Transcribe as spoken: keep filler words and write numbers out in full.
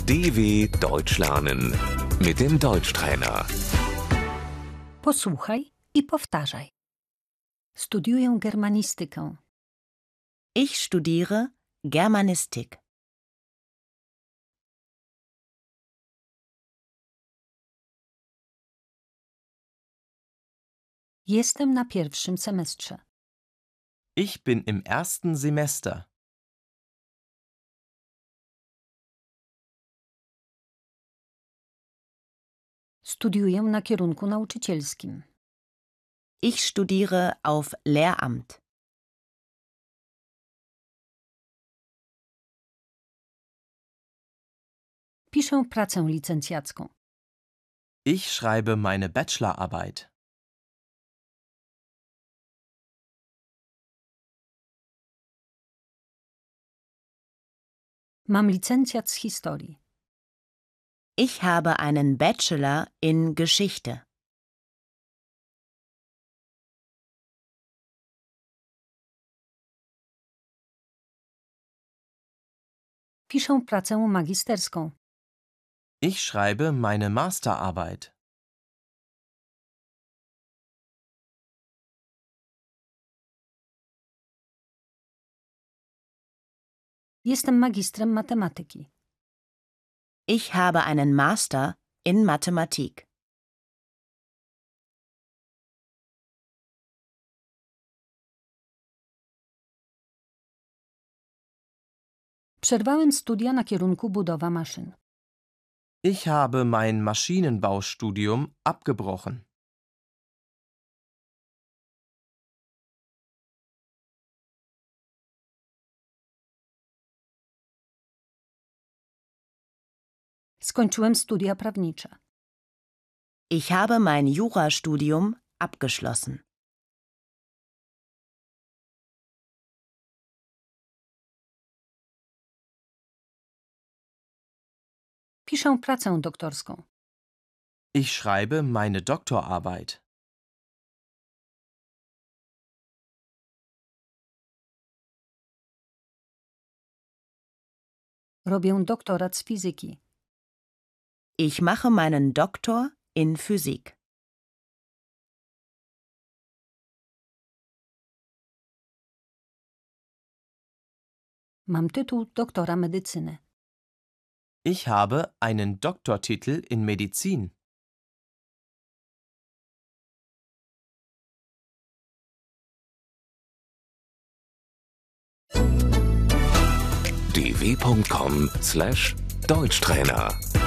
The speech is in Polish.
D W Deutsch lernen mit dem Deutschtrainer. Posłuchaj i powtarzaj. Studiuję germanistykę. Ich studiere Germanistik. Jestem na pierwszym semestrze. Ich bin im ersten Semester. Studiuję na kierunku nauczycielskim. Ich studiere auf Lehramt. Piszę pracę licencjacką. Ich schreibe meine Bachelorarbeit. Mam licencjat z historii. Ich habe einen Bachelor in Geschichte. Piszę pracę magisterską. Ich schreibe meine Masterarbeit. Jestem magistrem matematyki. Ich habe einen Master in Mathematik. Przerwałem studia na kierunku budowa maszyn. Ich habe mein Maschinenbaustudium abgebrochen. Skończyłem studia prawnicze. Ich habe mein Jurastudium abgeschlossen. Piszę pracę doktorską. Ich schreibe meine Doktorarbeit. Robię doktorat z fizyki. Ich mache meinen Doktor in Physik. Mam tytuł doktora medycyny. Ich habe einen Doktortitel in Medizin. d w punkt com slash Deutschtrainer